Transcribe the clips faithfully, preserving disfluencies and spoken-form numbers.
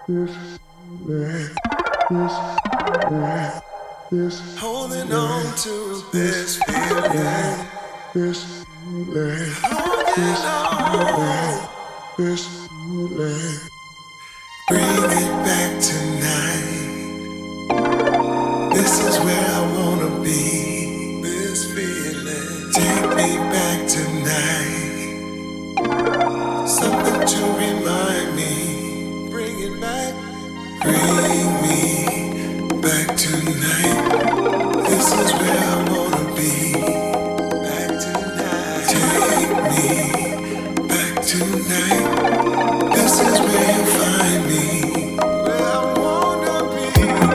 Holding on to this feeling. This feeling. Holding on. This feeling. Bring it back tonight. This is where I wanna be. This feeling. Take me back tonight. Something to remind me. Bring it back. Bring me back tonight. This is where I wanna be. Back tonight. Take me back tonight. This is where you find me. Where I wanna be.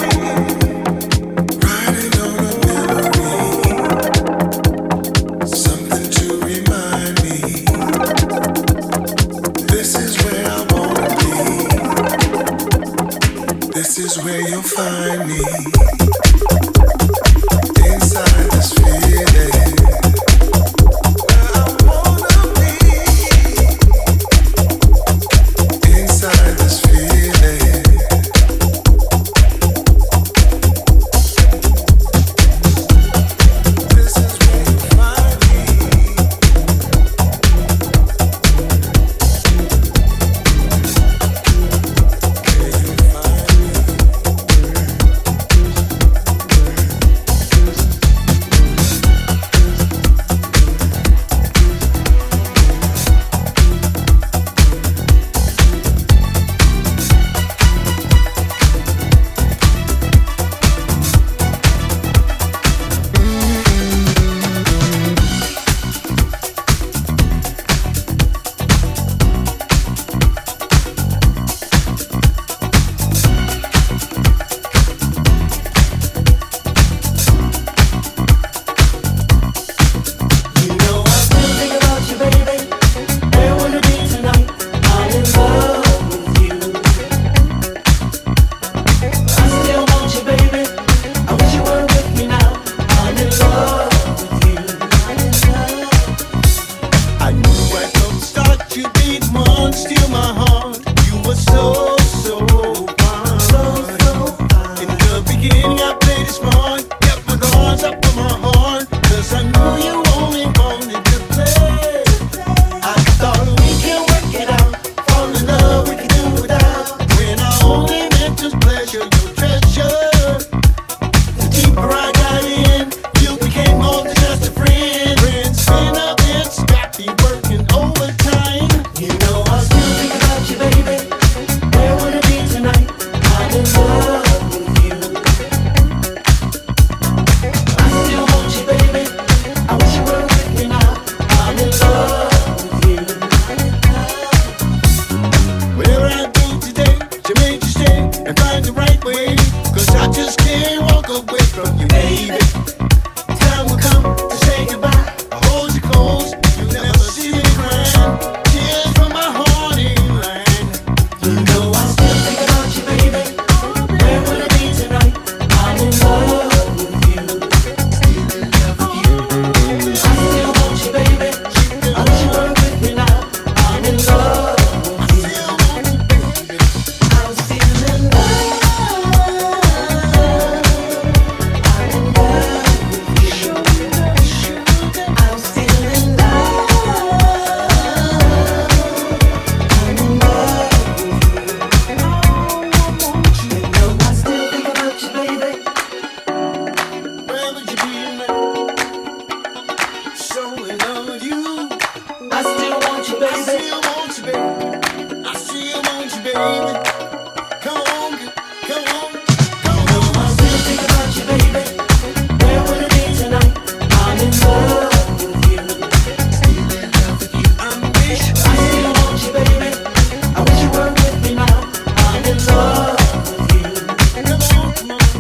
Riding on a memory. Something to remind me. This is where I wanna be. This is where you'll find me. Inside this feeling. Where I wanna be. Inside this feeling. This is where you find me. Where you find me. You know I still think about you, baby. Where would it be tonight? I'm in love with you. I still want you, baby. I wish you were with me now. I'm in love with you. I knew right from the start you'd be the one to steal my heart. You were so, so fine. So, so fine. In the beginning I played it smart. Kept my guards up on my heart. Cause I knew you only wanted to play. I thought we can work it out. Fall in love we can do without. When I only meant just pleasure, your treasure. The deeper I got in, you became more than just a friend. Friends spin up and got me working overtime. You know I still think about you, baby. Where would it be tonight? I'm in love with you. I still want you, baby. I wish you were with me now. I'm in love with you. Whatever I do today to make you stay and find the right way. Cause I just can't walk away from you, baby. Time will come to say goodbye. I hold you close, you never see me crying. Tears from my heart in line. You know I still think about you, baby. Where would it be tonight? I'm in love with you. I still want you, baby. I wish you were with me now. I'm in love with you. I'm still in love. I'm in love with you. I'm still in love. I'm in love with you. You know I still think about you, baby. Where would you be tonight? So in love with you. I still want you, baby. I still want you, baby. I still want you, baby. Come on, come on, come on. I still think about you, baby. Where would it be tonight? I'm in love with you. Still in love with you. I wish I still want you, baby. I wish you were with me now. I'm in love with you. Come on, come on.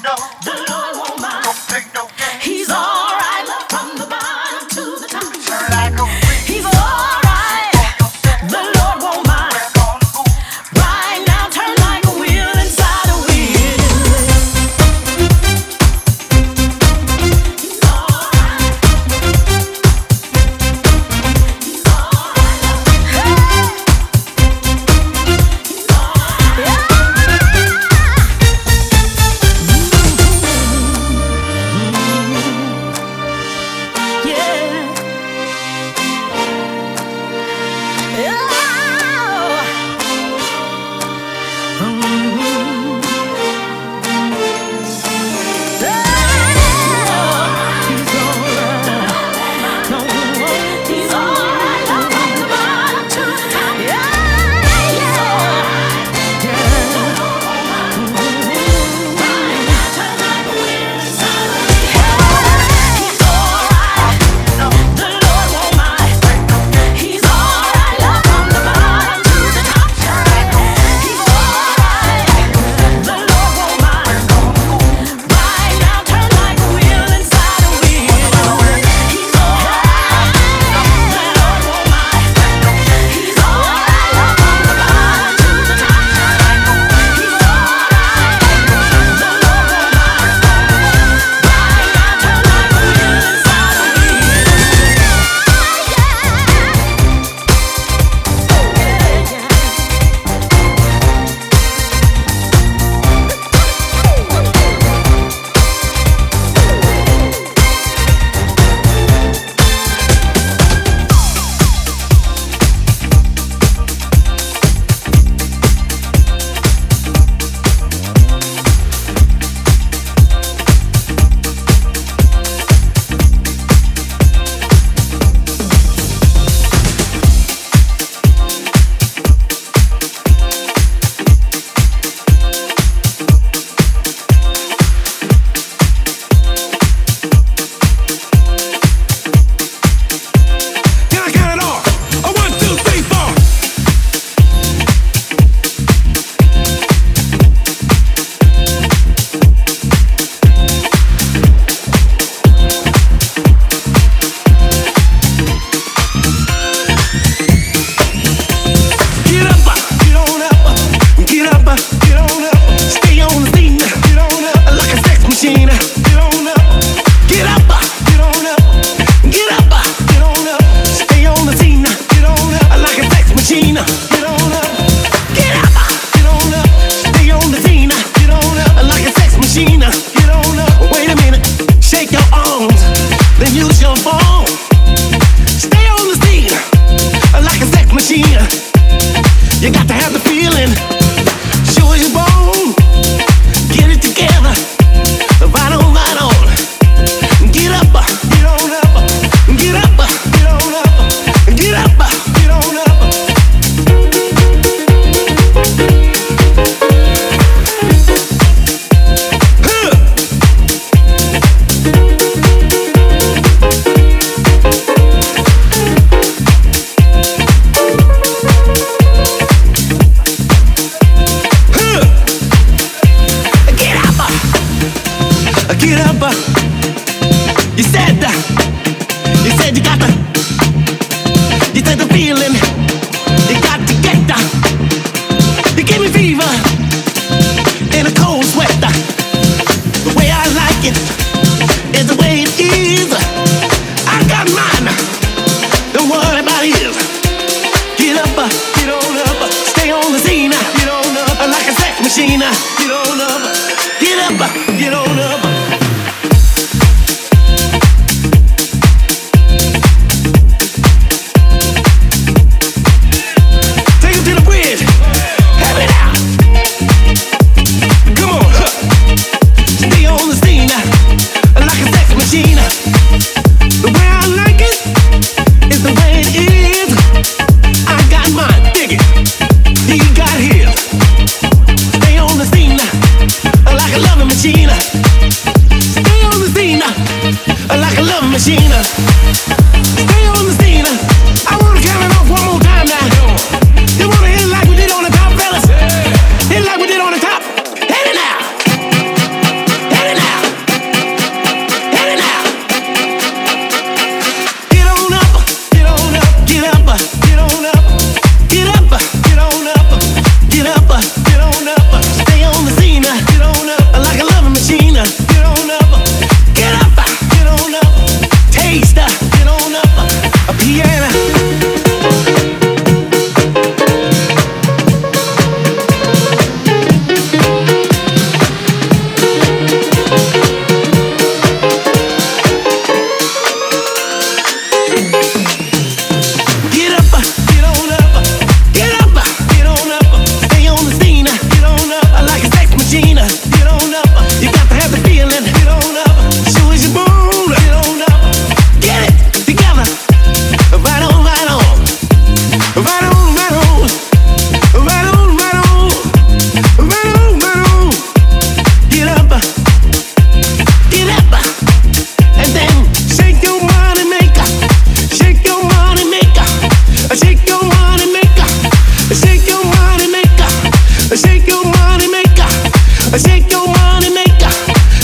Hey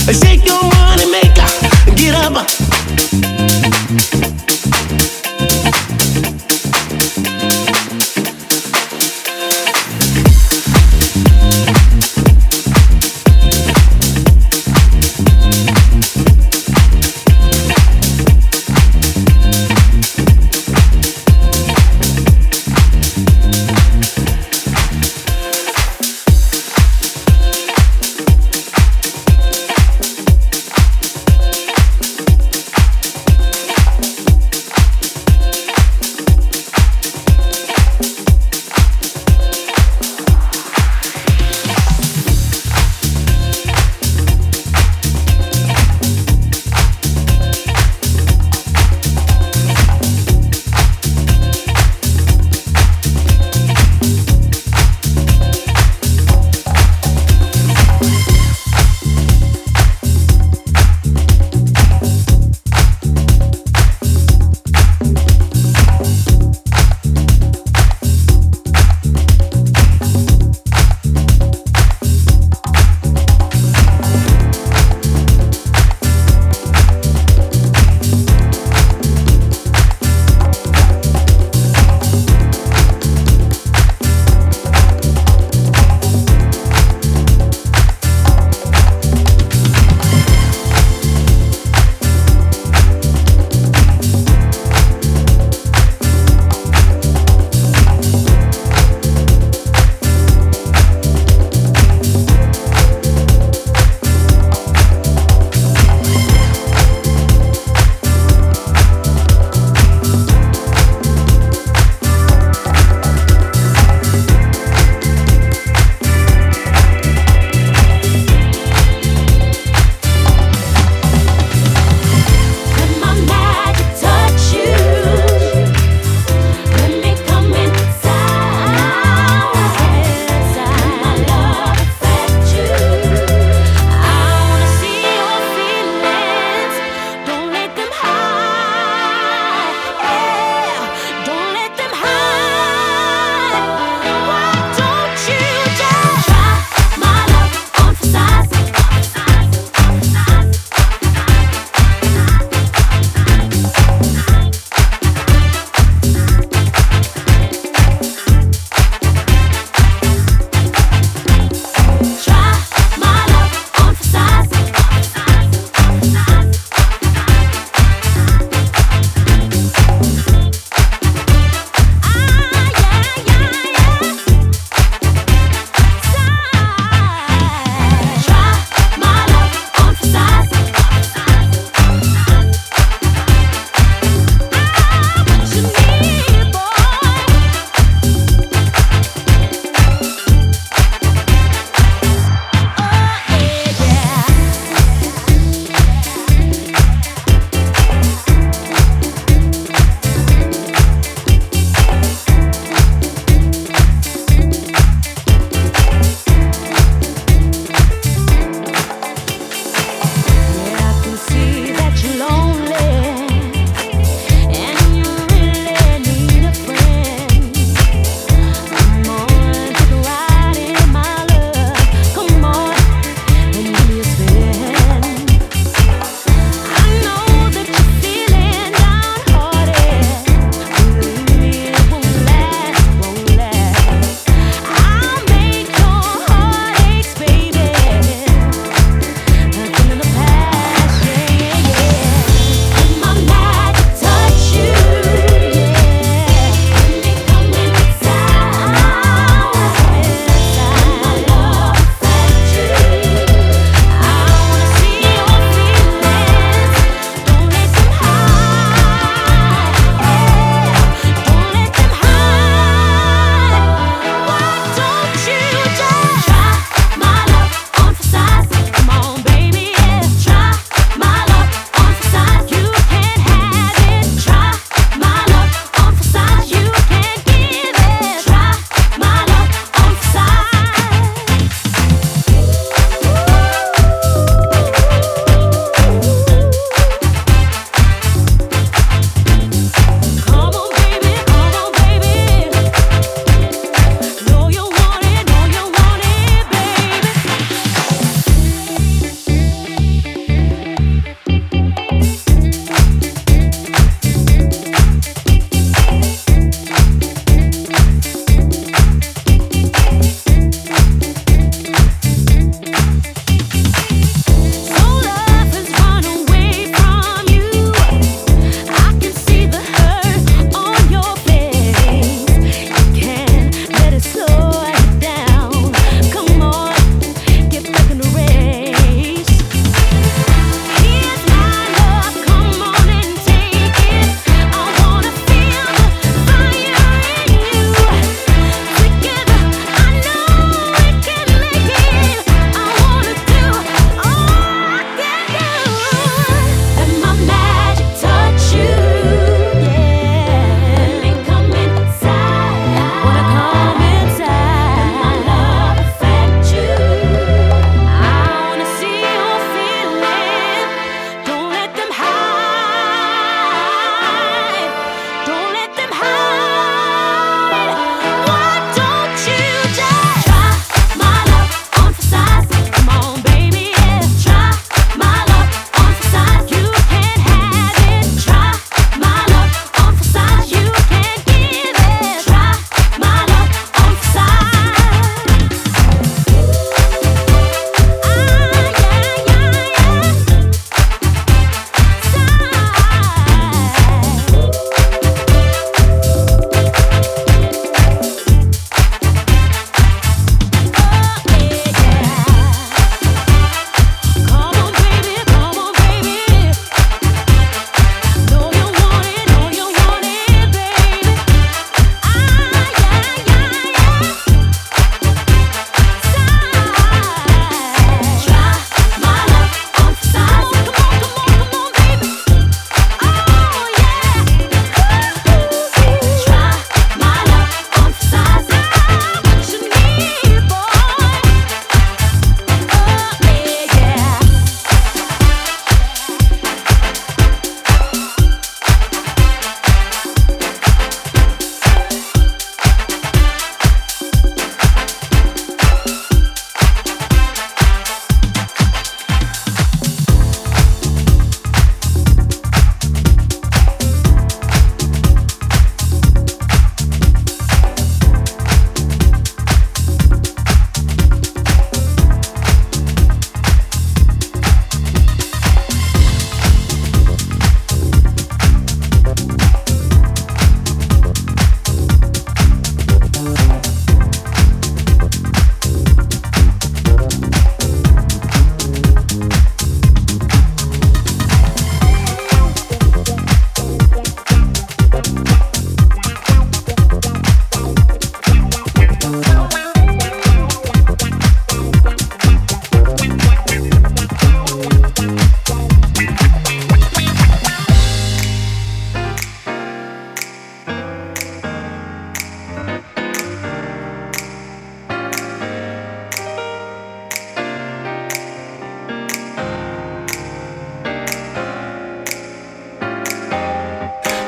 Shake your money maker, get up.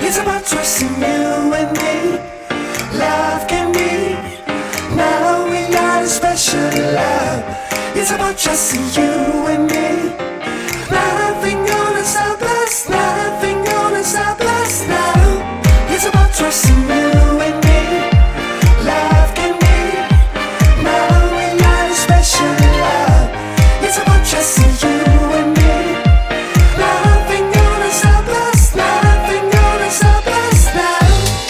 It's about trusting you and me. Love can be not all we got is special love. It's about trusting you and me. Nothing gonna stop us, nothing gonna stop us now. It's about trusting you and me. Love can be not all we got is special love. It's about trusting you and me. Nothing gonna stop us, nothing gonna stop us now.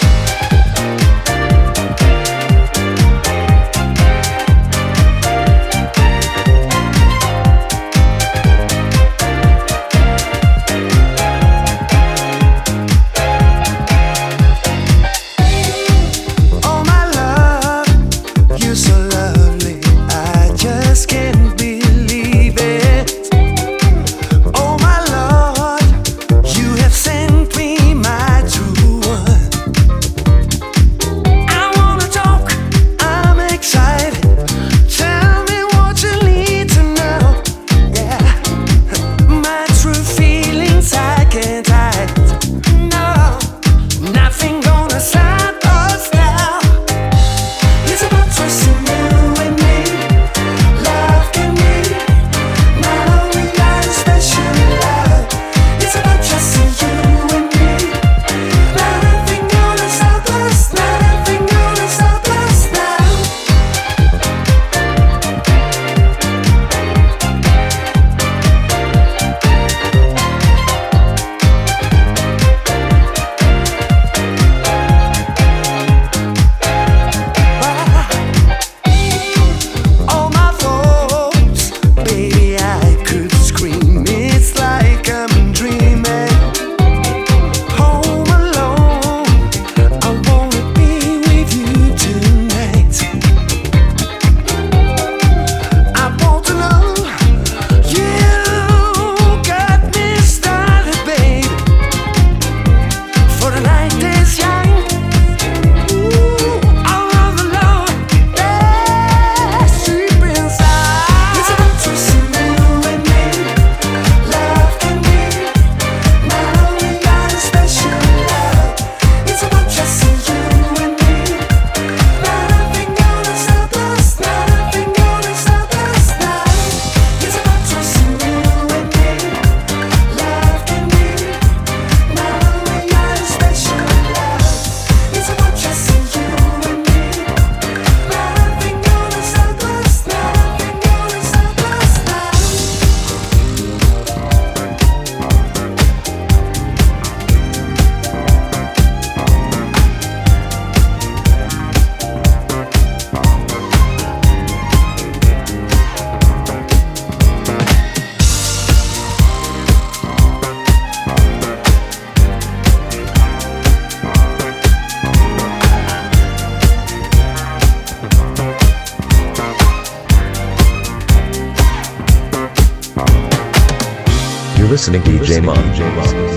Listening to D J Mom. D J Mom.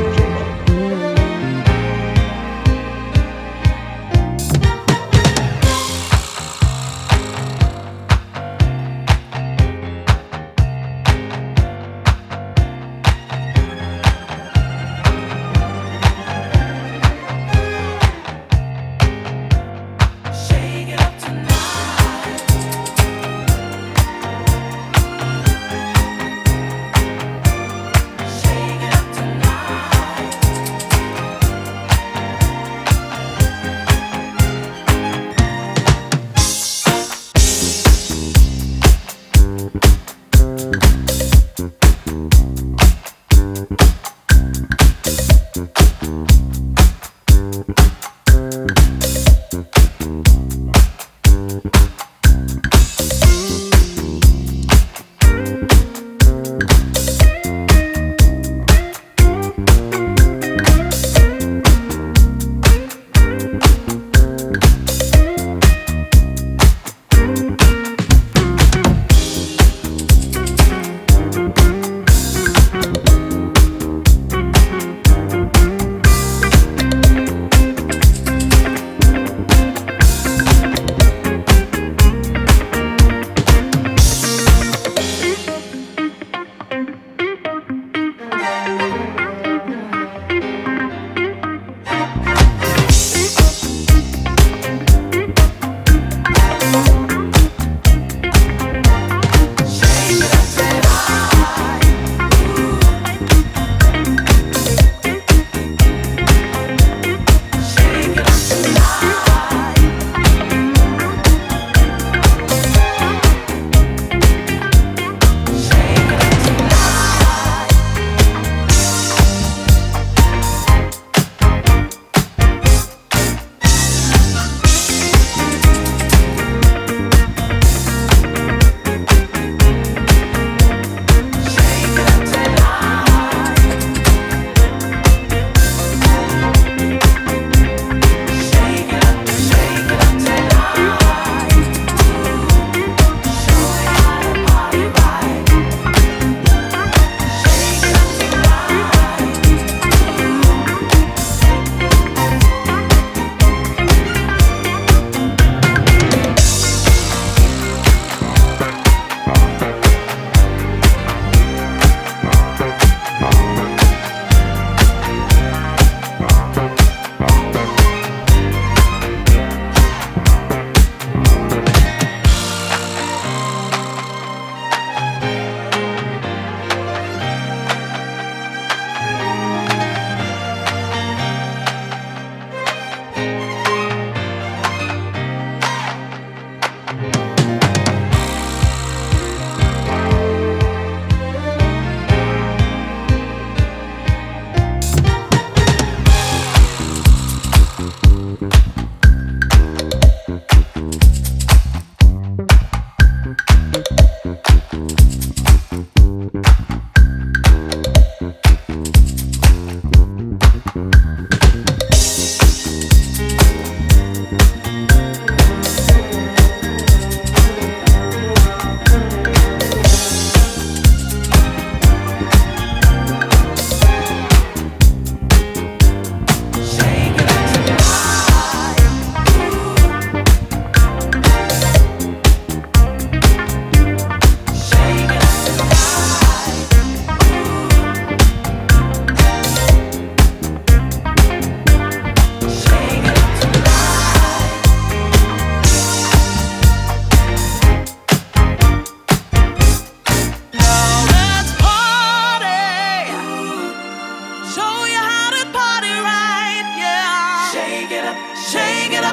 Shake it up tonight.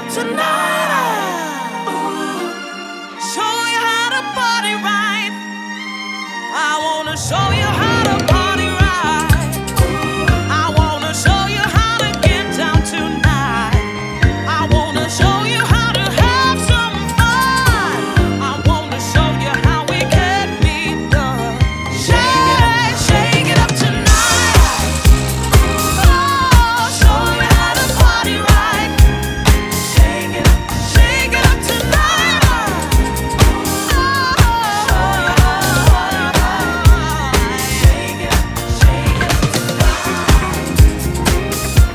tonight. Show you how to party right. I wanna show you how to party right. I wanna show you how to get down tonight. I wanna show you how to have some fun. I wanna show you how we can be done. Shake, shake it up tonight. Oh, show you how to party right. Shake it up, shake it up tonight. Oh, show you how to party right. Shake it up, shake it up tonight.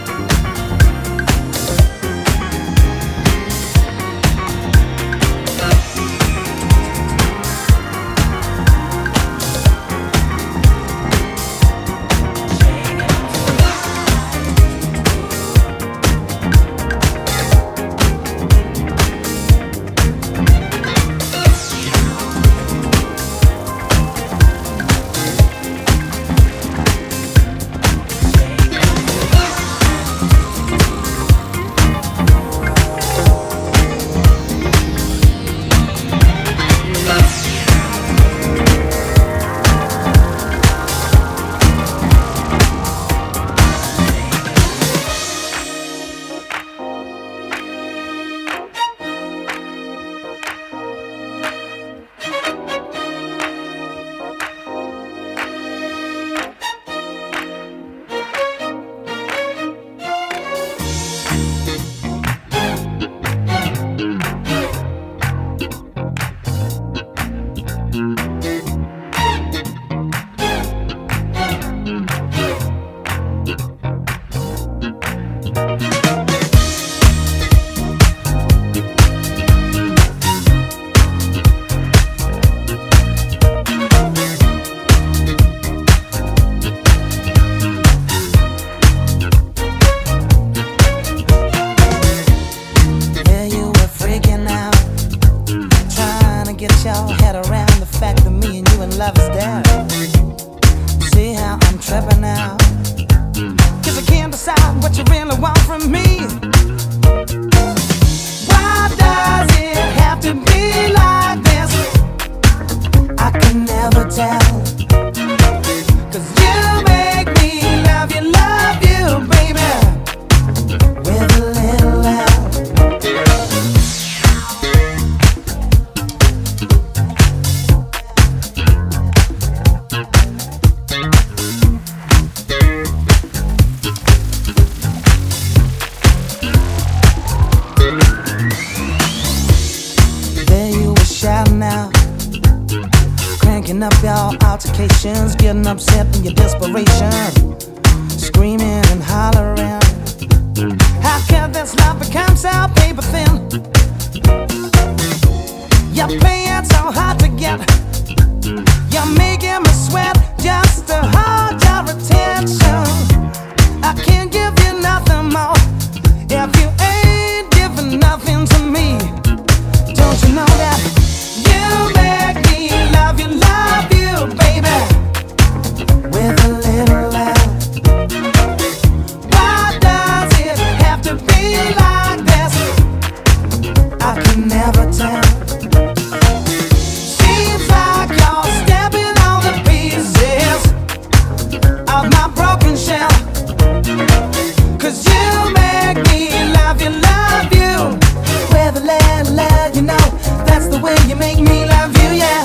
Yeah, you were freaking out, trying to get your head around the fact that me and you in love is dead. See how I'm tripping now, 'cause I can't decide what you really want from me. Why does it have to be like this? I can never tell, 'cause you make me love you, love you, baby, with a little help. There you were shouting out, cranking up your altercations, getting upset in your desperation, screaming and hollering. How can this love become so paper thin? You're playing so hard to get, you're making me sweat just to hold your attention. I can't give you nothing more if you ain't giving nothing to me. Don't you know that you make me love you, love you, baby, with a little love? Why does it have to be like this? I can never tell. Seems like you're stepping on the pieces of my broken shell, 'cause you make me love you, love you, with a little love, you know. That's the way you make me love you, yeah.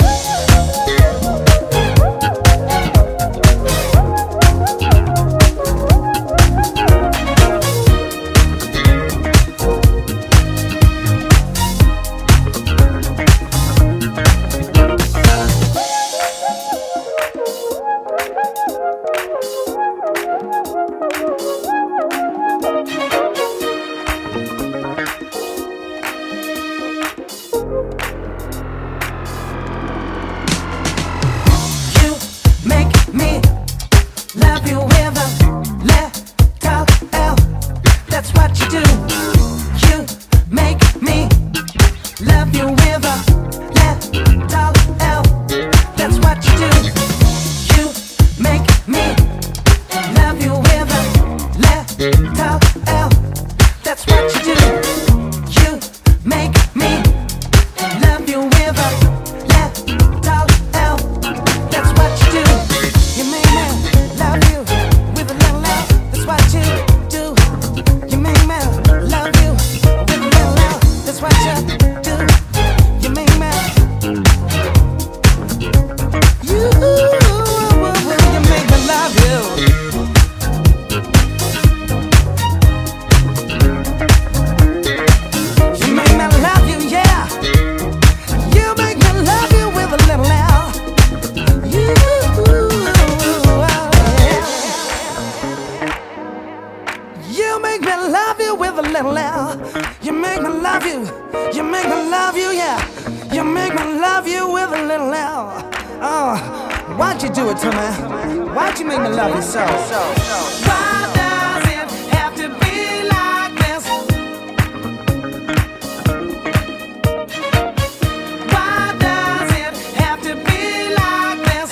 You make me love you with a little L. That's what you do. You make me love you with a little L. That's what you do. You make me love you with a little L. That's what you do. You little L. You make me love you, you make me love you, yeah. You make me love you with a little L. Oh, why'd you do it to me? Why'd you make me love you so? Why does it have to be like this? Why does it have to be like this?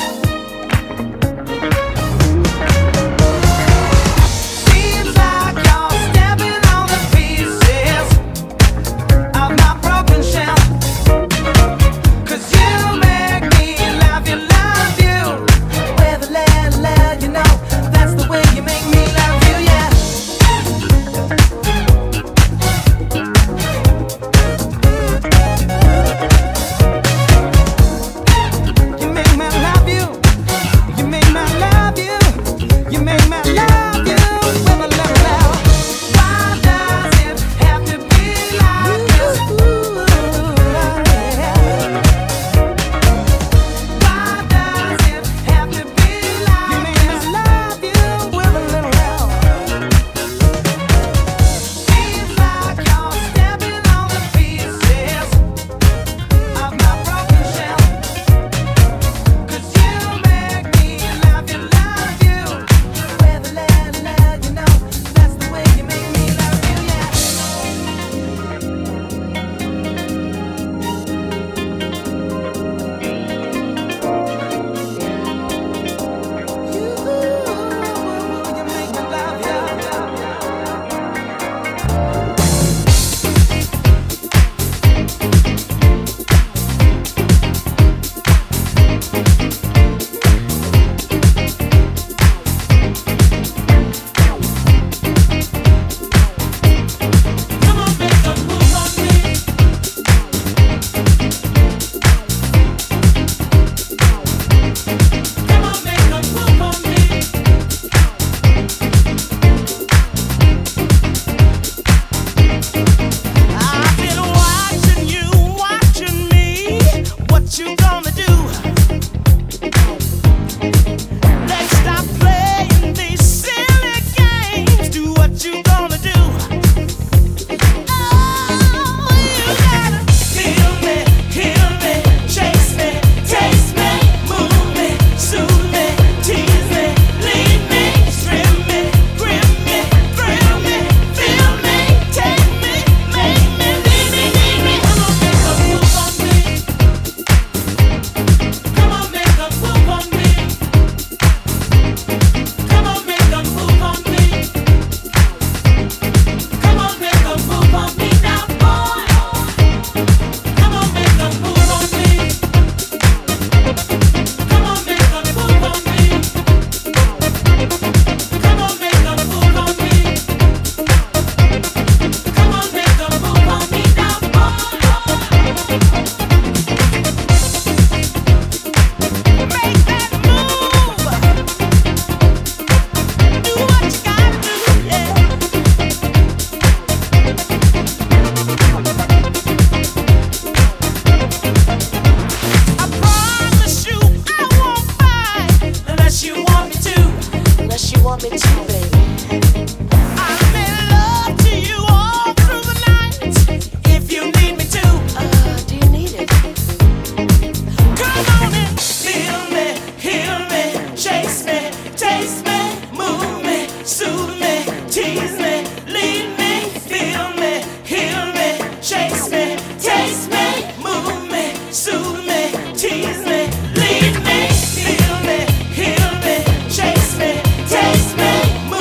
Seems like you're stepping on the pieces of my broken shell. 'Cause you make me love you, love you with a little love, you know. That's the way you make me love you, yeah. You make me love you, you make me love you, you make me love you with a little love. Why does it have to be like this? Why does it have to be like you make me love you with a little love? Seems like you're stepping on the pieces of my broken shell. 'Cause you make me love you, love you with a little love, you know. That's the way you make me love you, yeah. You, you make me love you. Come on, make a move on me. Come on, make a move on me. I've been watching you, watching me. What you gonna do? Let's stop playing these silly games. Do what you gonna do. Oh, you gotta feel me, heal me, chase me, taste me, move me, soothe me, tease me, lead me, strim me, grip me, thrill me, feel me, take me, make me, lead me, need me. Come on, make a move on me. Come on, make a move on me. Come on, make a move on me. Come on, make a move on me now, boy. Come on, make a move on me. Come on, make a move on me. Come on, make a move on me. Come on, make a move on me now, boy. Make that move. Do what you gotta do, yeah. I promise you I won't fight unless you want me to. Unless you want me to, baby. I'm in love to you all through the night. If you need me to, Uh, do you need it? come on and feel me, heal me, chase me, taste me, move me, soothe me, tease me, lead me, feel me, heal me, chase me, taste me, move me, soothe me, tease me, lead me, feel me, heal me, chase me, taste me,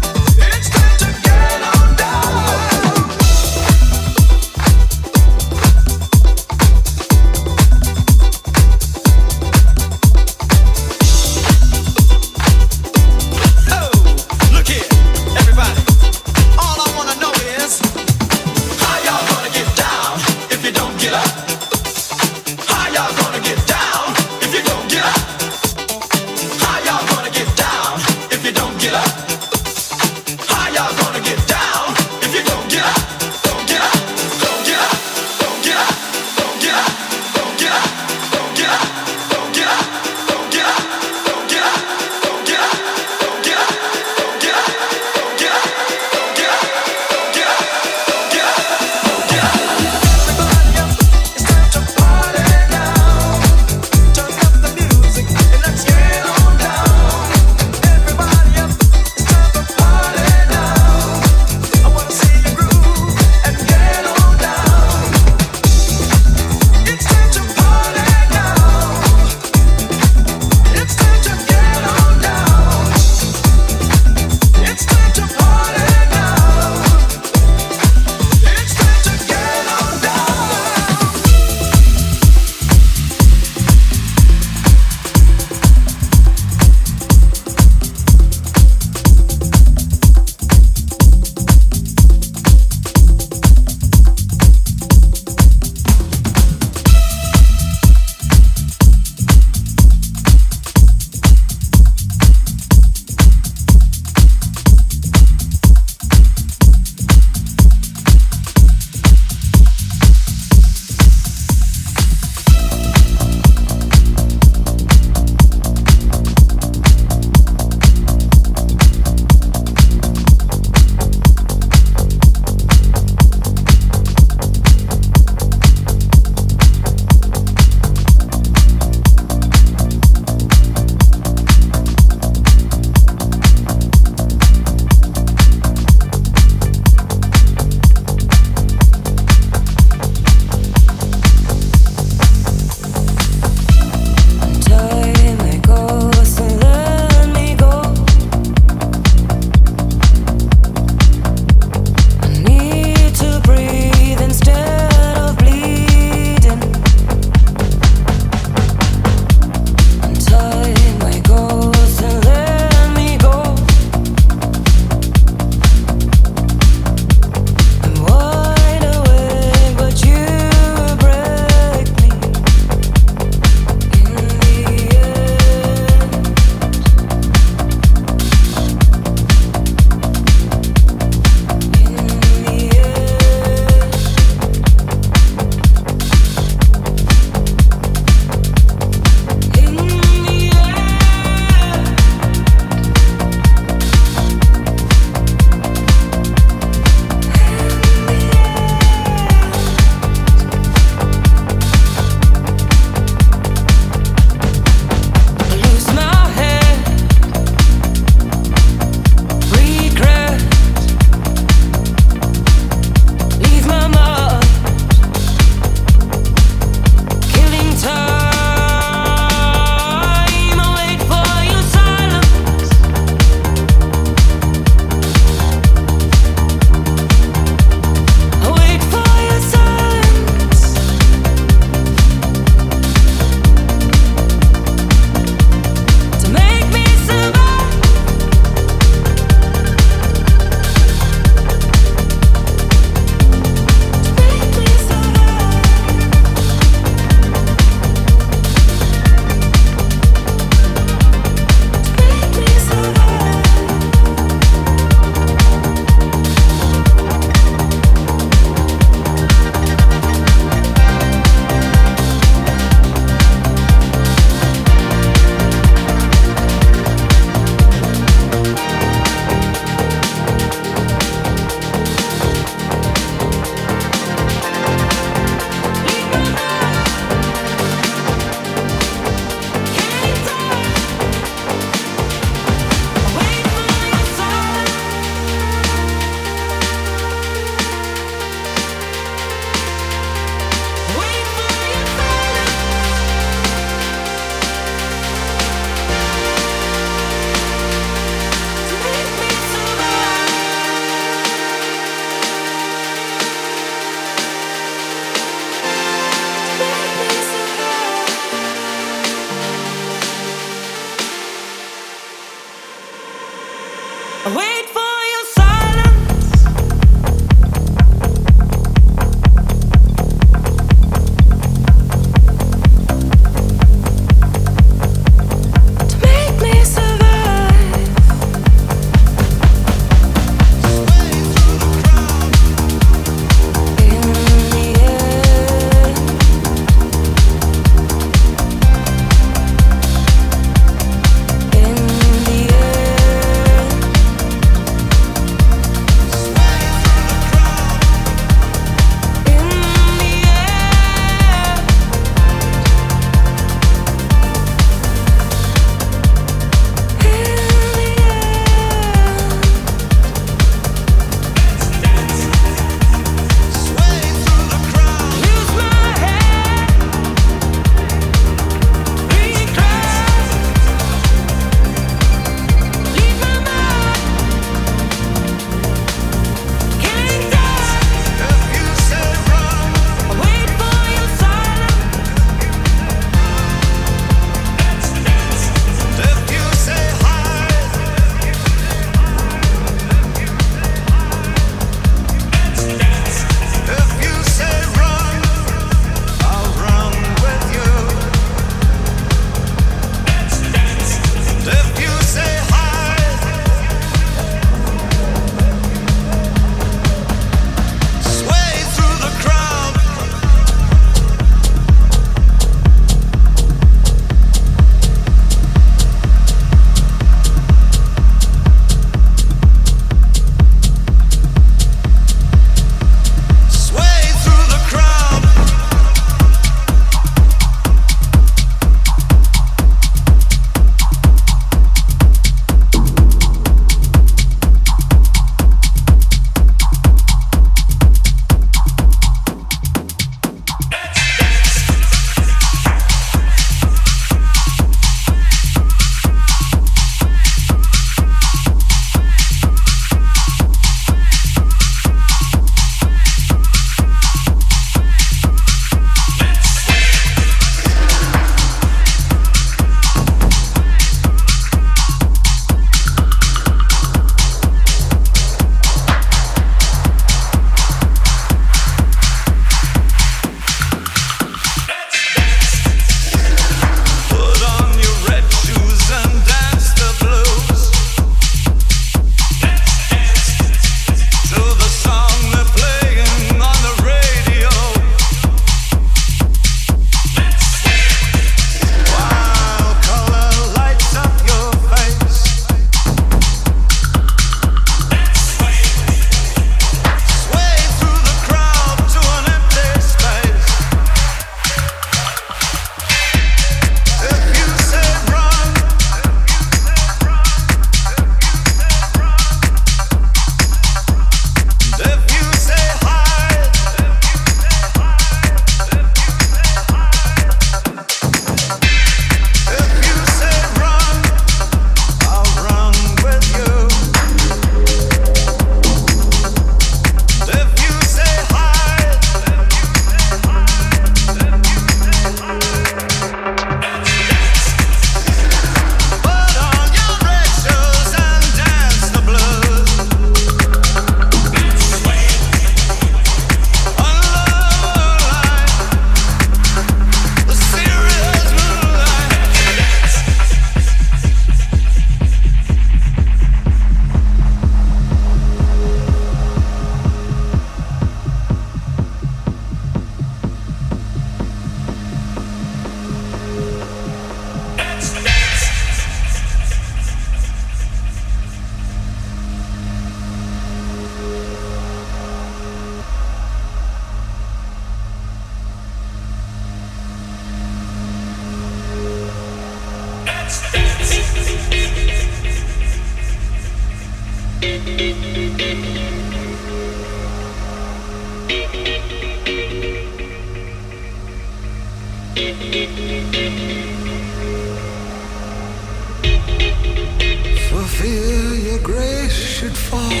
For fear your grace should fall,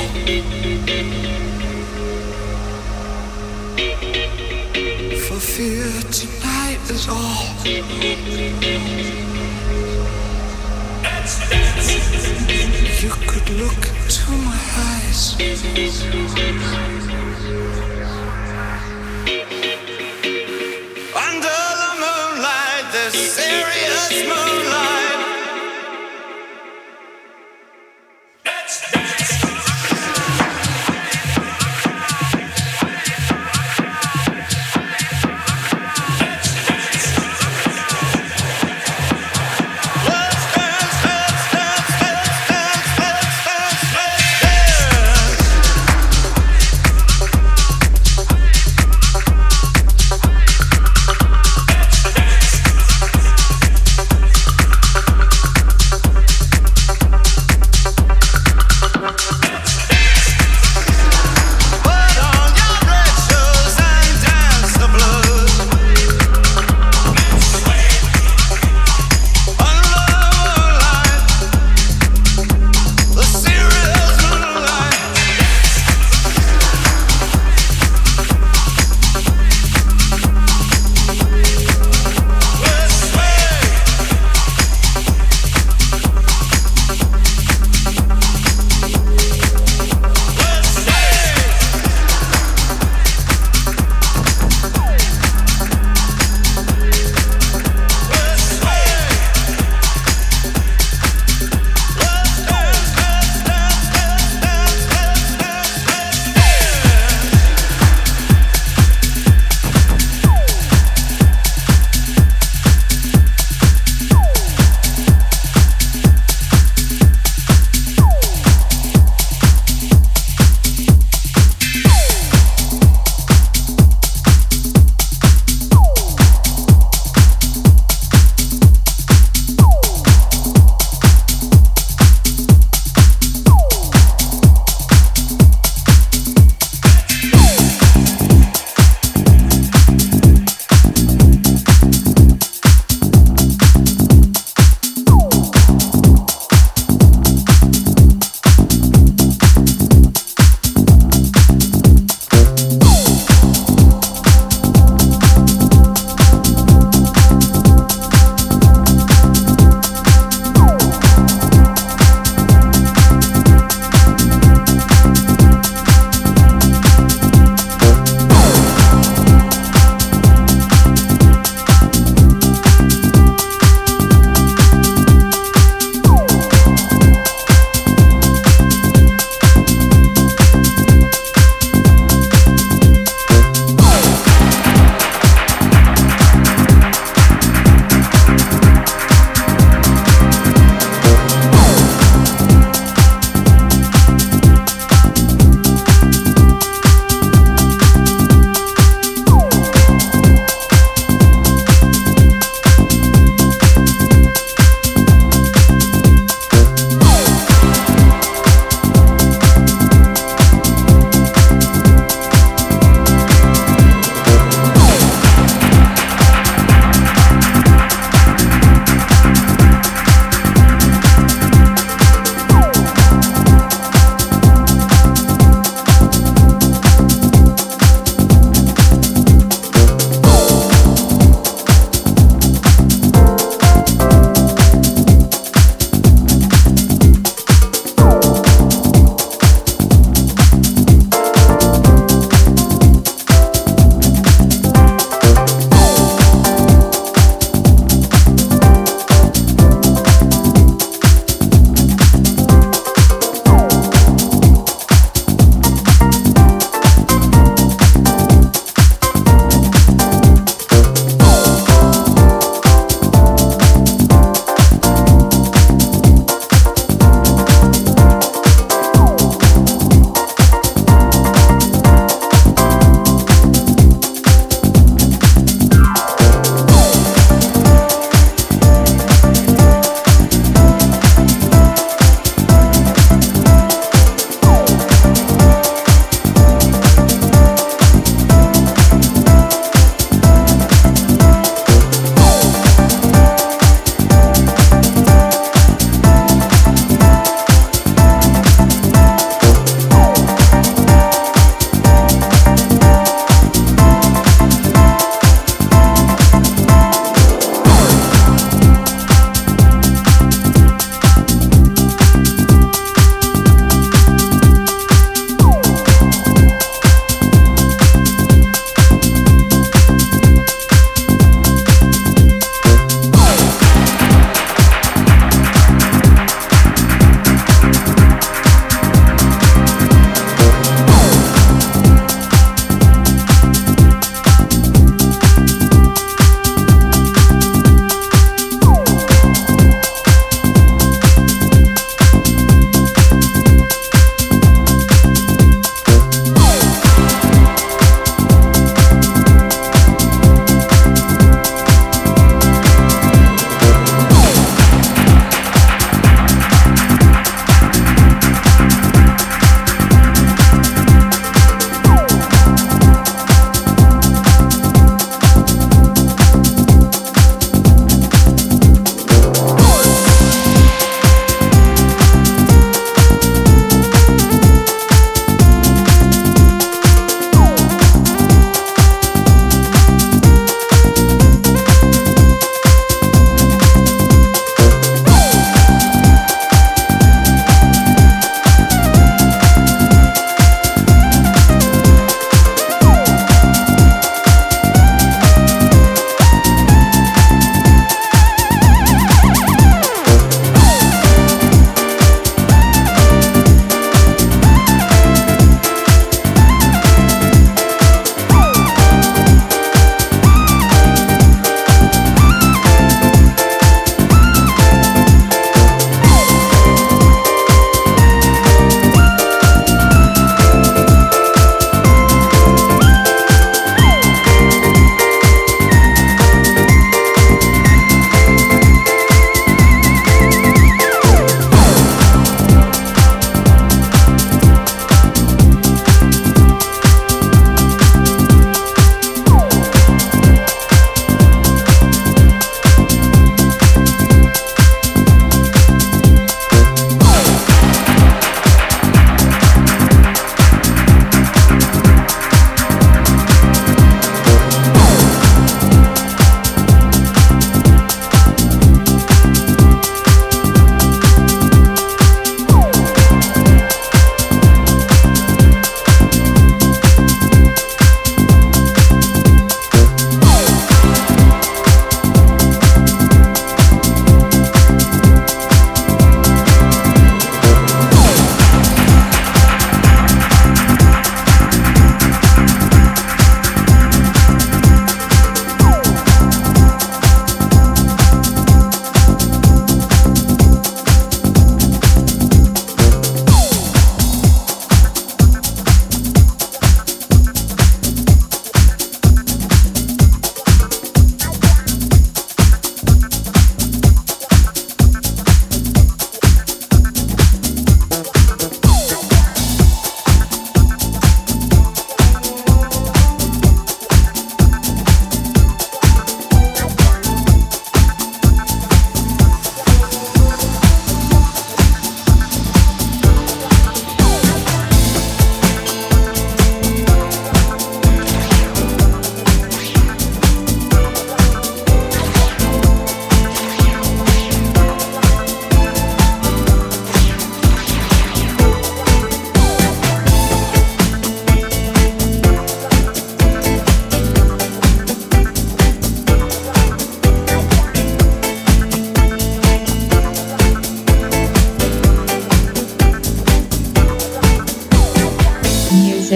for fear tonight is all. You could look into my eyes, under the moonlight, the serious moonlight.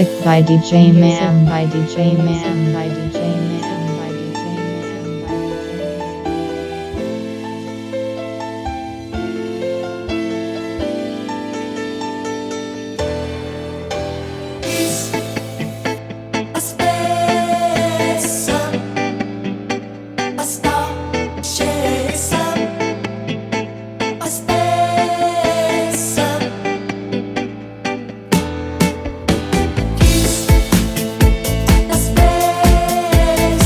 Music by D J Man, by D J Man, by D J Man, by D J Man, by Space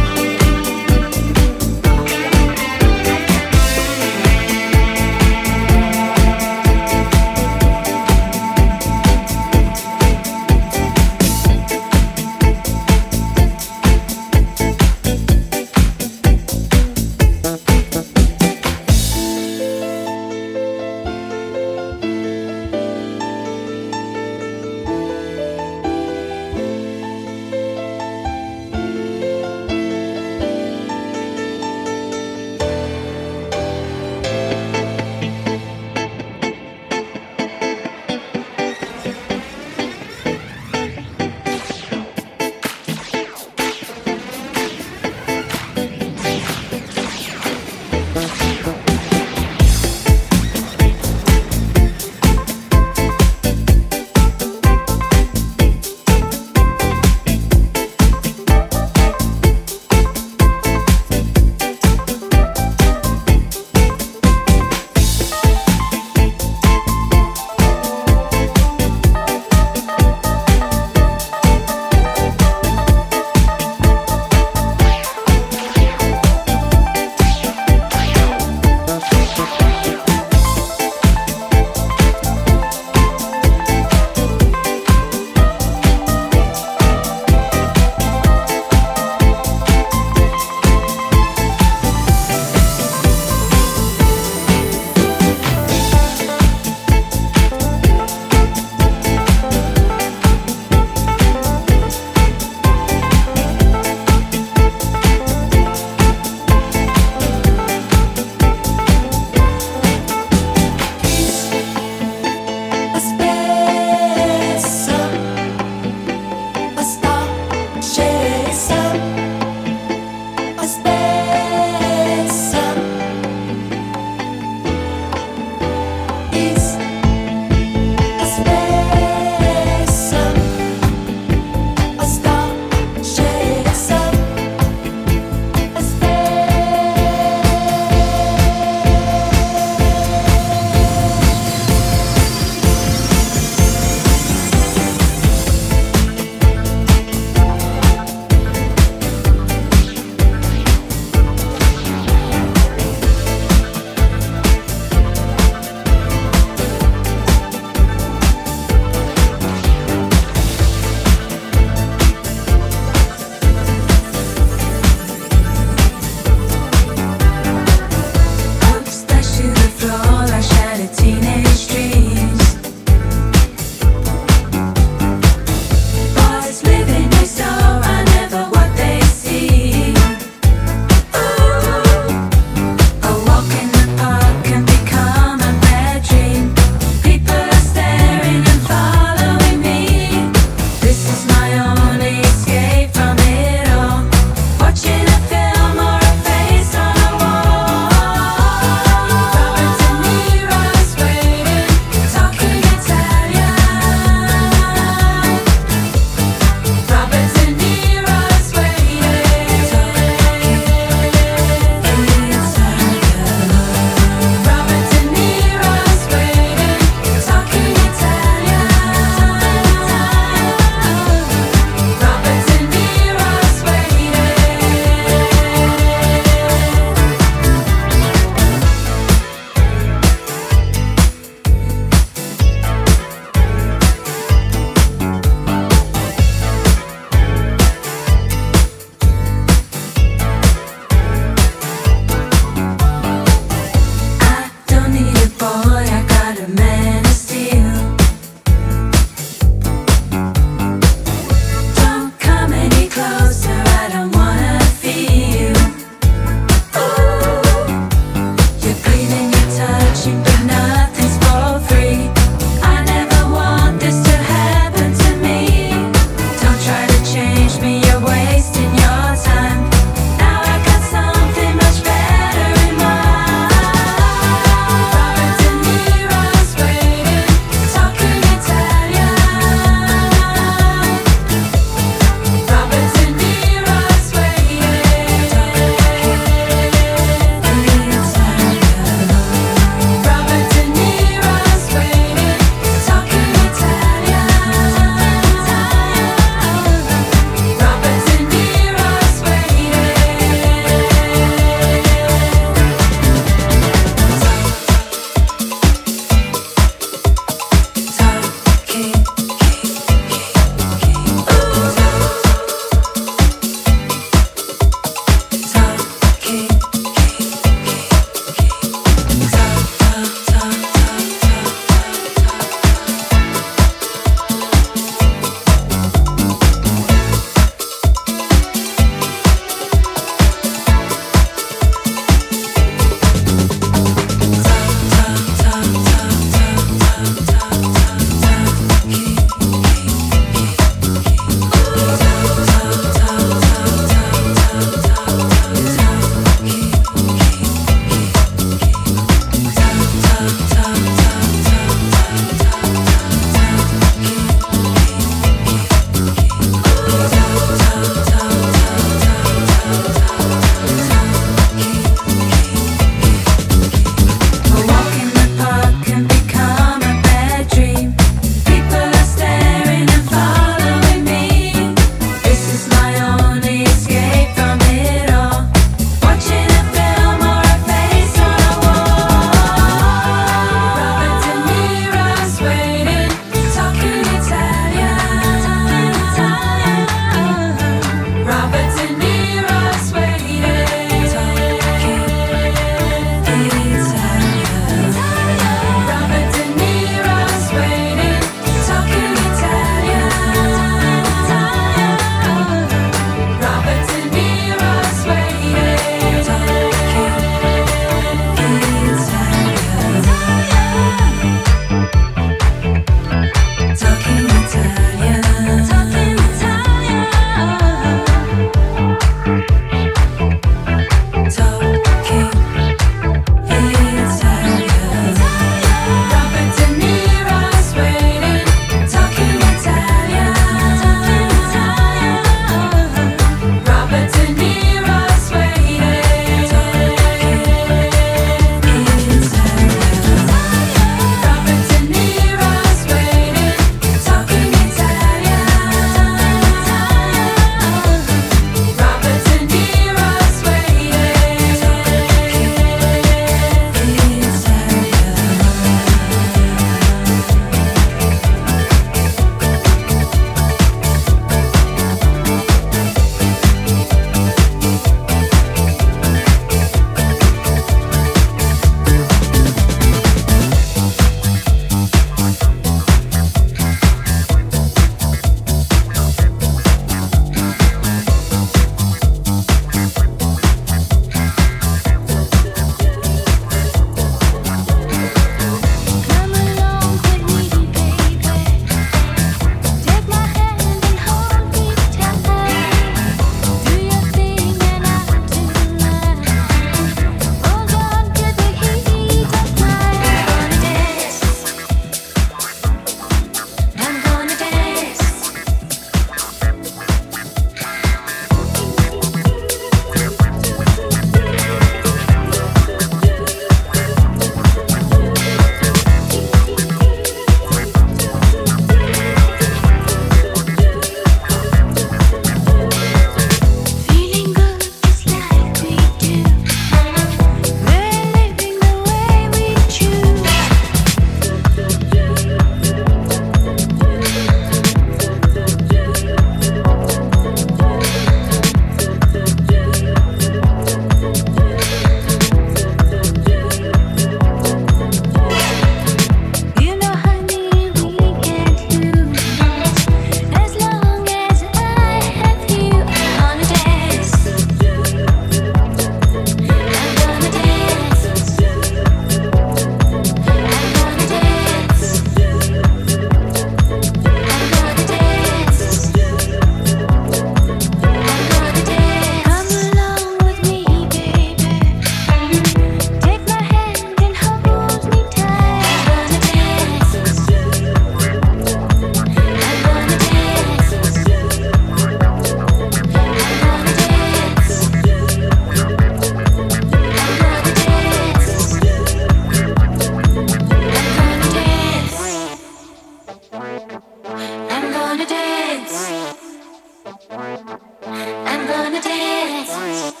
I'm gonna dance.